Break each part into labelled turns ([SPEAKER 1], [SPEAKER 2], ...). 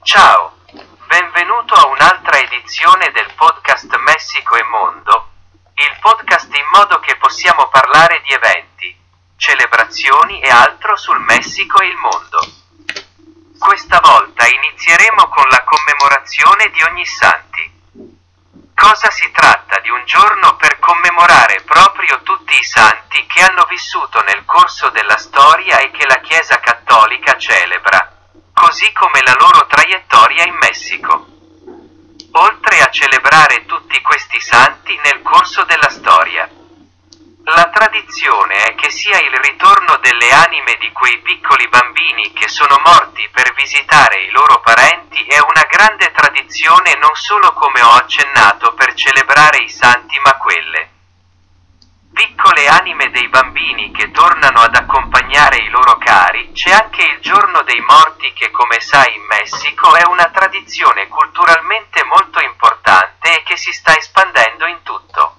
[SPEAKER 1] Ciao, benvenuto a un'altra edizione del podcast Messico e Mondo, il podcast in modo che possiamo parlare di eventi, celebrazioni e altro sul Messico e il mondo. Questa volta inizieremo con la commemorazione di Ognissanti. Cosa si tratta di un giorno per commemorare proprio tutti i santi che hanno vissuto nel corso della storia e che la Chiesa Cattolica celebra, così come la loro traiettoria in Messico. Oltre a celebrare tutti questi santi nel corso della storia, la tradizione è che sia il ritorno delle anime di quei piccoli bambini che sono morti per visitare i loro parenti è una grande tradizione non solo come ho accennato per celebrare i santi ma quelle piccole anime dei bambini che tornano ad accompagnare i loro cari. C'è anche il giorno dei morti che, come sai, in Messico è una tradizione culturalmente molto importante e che si sta espandendo in tutto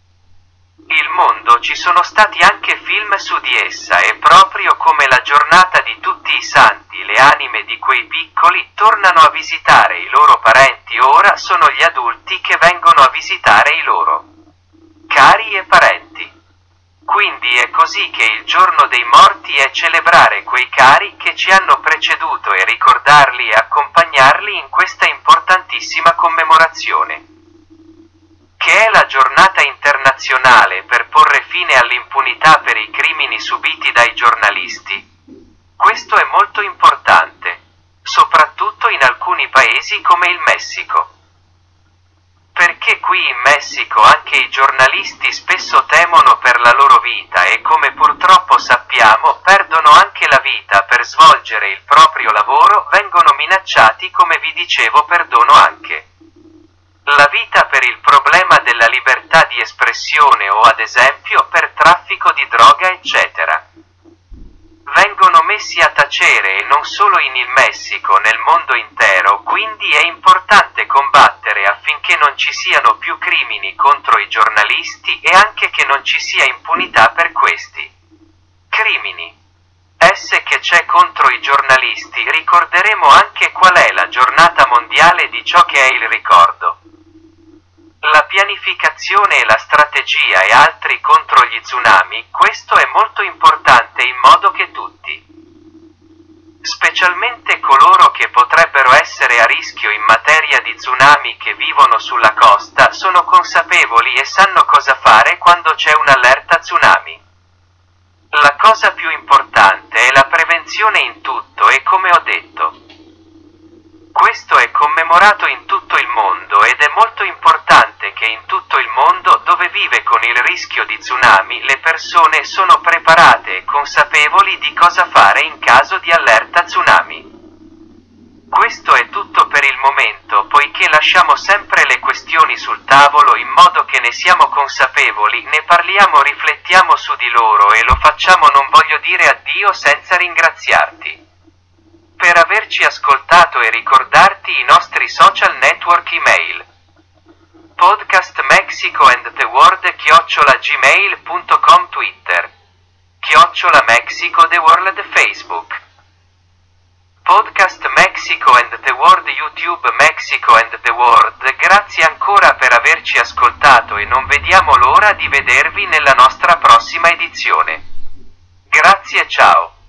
[SPEAKER 1] il mondo. Ci sono stati anche film su di essa e proprio come la giornata di tutti i santi, le anime di quei piccoli tornano a visitare i loro parenti. Ora sono gli adulti che vengono a visitare i loro cari e parenti. Quindi è così che il giorno dei morti è celebrare quei cari che ci hanno preceduto e ricordarli e accompagnarli in questa importantissima commemorazione, che è la giornata internazionale per porre fine all'impunità per i crimini subiti dai giornalisti. Questo è molto importante, soprattutto in alcuni paesi come il Messico. Perché qui in Messico anche i giornalisti spesso temono per la loro vita e, come purtroppo sappiamo, perdono anche la vita per svolgere il proprio lavoro, vengono minacciati, come vi dicevo, perdono anche la vita per il problema della libertà di espressione o ad esempio per traffico di droga eccetera. Vengono messi a tacere e non solo in il Messico, nel mondo intero, quindi è importante combattere affinché non ci siano più crimini contro i giornalisti e anche che non ci sia impunità per questi crimini. Che c'è contro i giornalisti. Ricorderemo anche qual è la giornata mondiale di ciò che è il ricordo, la pianificazione e la strategia e altri contro gli tsunami. Questo è molto importante in modo che tutti, specialmente coloro che potrebbero essere a rischio in materia di tsunami che vivono sulla costa, sono consapevoli e sanno cosa fare quando c'è un'allerta tsunami. La cosa più importante è la prevenzione in tutto e, come ho detto, questo è commemorato in tutto il mondo ed è molto importante che in tutto il mondo dove vive con il rischio di tsunami le persone sono preparate e consapevoli di cosa fare in caso di allerta tsunami. Questo è tutto per il momento, poiché lasciamo sempre le questioni sul tavolo in modo che ne siamo consapevoli, ne parliamo, riflettiamo su di loro e lo facciamo. Non voglio dire addio senza ringraziarti per averci ascoltato e ricordarti i nostri social network email: Podcast Mexico and the World @gmail.com, Twitter @Mexico the World, Facebook Podcast Mexico and the World, YouTube Mexico and the World. Grazie ancora per averci ascoltato e non vediamo l'ora di vedervi nella nostra prossima edizione. Grazie, ciao.